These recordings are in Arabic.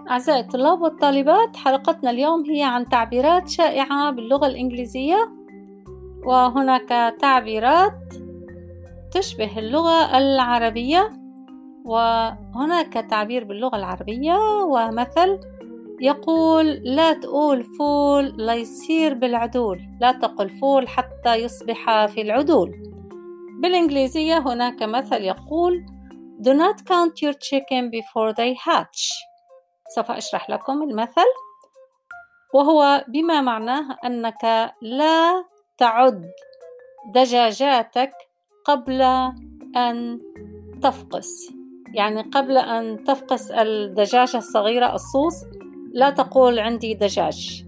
أعزائي الطلاب والطالبات، حلقتنا اليوم هي عن تعبيرات شائعة باللغة الإنجليزية، وهناك تعبيرات تشبه اللغة العربية، وهناك تعبير باللغة العربية ومثل يقول: لا تقول فول لا يصير بالعدول، لا تقل فول حتى يصبح في العدول. بالإنجليزية هناك مثل يقول: Do not count your chicken before they hatch. سوف أشرح لكم المثل، وهو بما معناه أنك لا تعد دجاجاتك قبل أن تفقس، يعني قبل أن تفقس الدجاجة الصغيرة الصوص لا تقول عندي دجاج.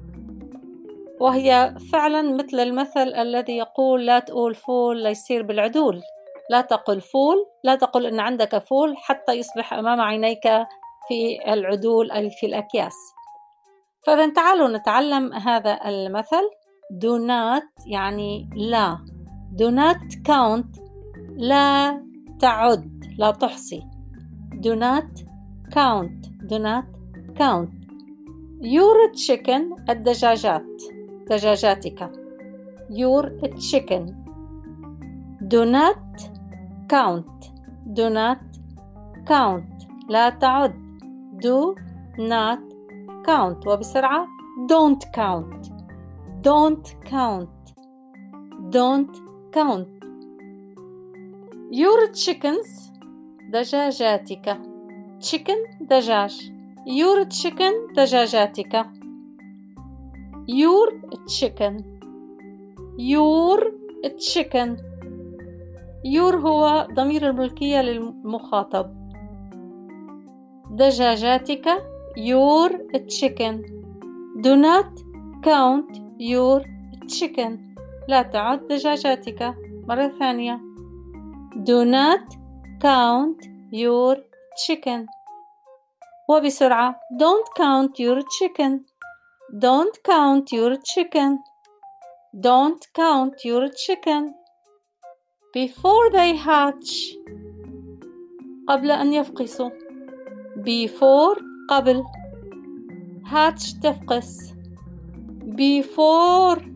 وهي فعلا مثل المثل الذي يقول: لا تقول فول لا يصير بالعدول، لا تقل فول، لا تقل أن عندك فول حتى يصبح أمام عينيك في العدول أي في الأكياس. فإذا تعالوا نتعلم هذا المثل. do not يعني لا، do not count لا تعد، لا تحصي. do not count، do not count your chicken الدجاجات، دجاجاتك. your chicken. do not count، do not count لا تعد. do not count. وبسرعة: don't count، don't count، don't count your chickens دجاجاتك. chicken دجاج، your chicken دجاجاتك. your chicken، your chicken. your هو ضمير الملكية للمخاطب. دجاجاتك your chicken. do not count your chicken، لا تعد دجاجاتك. مرة ثانية: do not count your chicken. وبسرعة: don't count your chicken، don't count your chicken، don't count your chicken before they hatch قبل أن يفقسوا. before قبل، hatch تفقس. before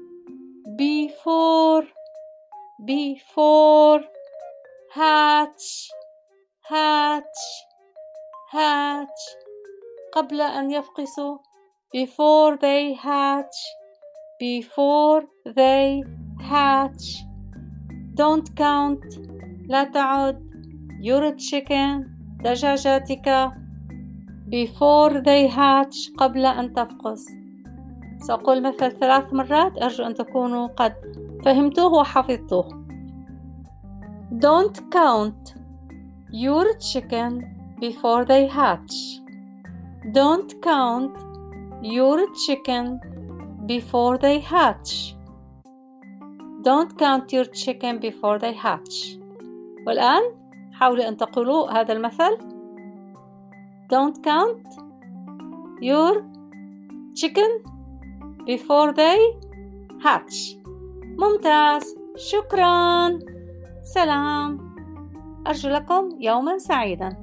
before before hatch hatch hatch قبل أن يفقسوا. before they hatch before they hatch. don't count لا تعد your chicken دجاجاتك before they hatch قبل أن تفقس. سأقول مثل 3 مرات، أرجو أن تكونوا قد فهمتوه وحفظتوه. don't count your chicken before they hatch. don't count your chicken before they hatch. don't count your chicken before they hatch. والآن حاولوا أن تقولوا هذا المثل: don't count your chicken before they hatch. ممتاز، شكرا، سلام، أرجو لكم يوما سعيدا.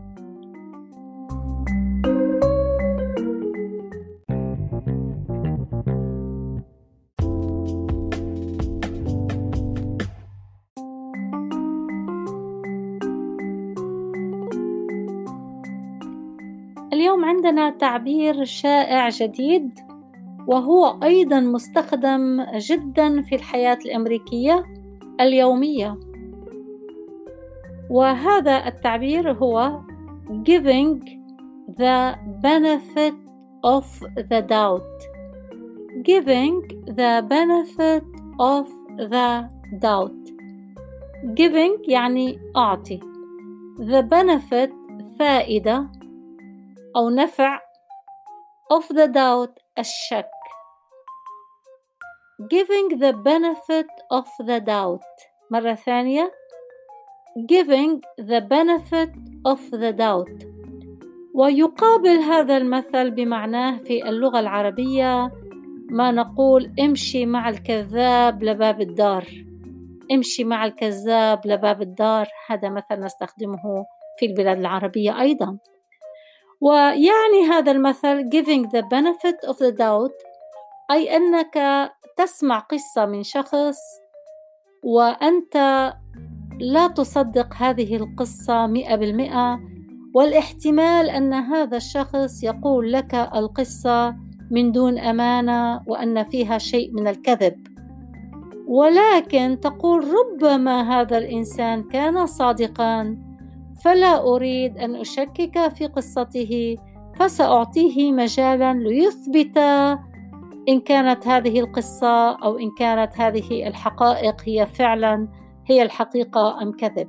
اليوم عندنا تعبير شائع جديد، وهو أيضا مستخدم جدا في الحياة الأمريكية اليومية، وهذا التعبير هو giving the benefit of the doubt. giving the benefit of the doubt. giving يعني أعطي، the benefit فائدة أو نفع، of the doubt الشك. giving the benefit of the doubt. مرة ثانية: giving the benefit of the doubt. ويقابل هذا المثل بمعناه في اللغة العربية ما نقول: امشي مع الكذاب لباب الدار. امشي مع الكذاب لباب الدار، هذا مثل نستخدمه في البلاد العربية أيضا. ويعني هذا المثل giving the benefit of the doubt، أي أنك تسمع قصة من شخص وأنت لا تصدق هذه القصة 100%، والاحتمال أن هذا الشخص يقول لك القصة من دون أمانة وأن فيها شيء من الكذب، ولكن تقول ربما هذا الإنسان كان صادقاً، فلا أريد أن أشكك في قصته، فسأعطيه مجالاً ليثبت إن كانت هذه القصة أو إن كانت هذه الحقائق هي فعلاً هي الحقيقة أم كذب.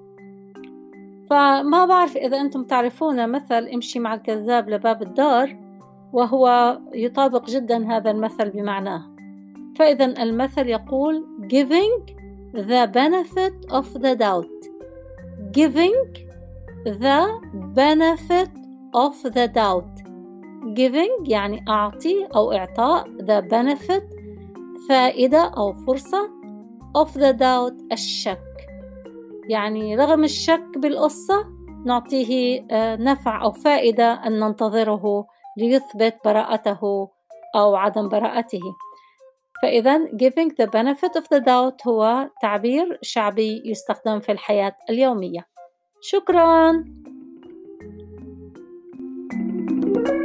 فما بعرف إذا أنتم تعرفون مثل امشي مع الكذاب لباب الدار، وهو يطابق جداً هذا المثل بمعناه. فإذا المثل يقول giving the benefit of the doubt. giving the benefit of the doubt. giving يعني أعطي أو إعطاء، the benefit فائدة أو فرصة، of the doubt الشك، يعني رغم الشك بالقصة نعطيه نفع أو فائدة أن ننتظره ليثبت براءته أو عدم براءته. فإذا giving the benefit of the doubt هو تعبير شعبي يستخدم في الحياة اليومية. شكراً.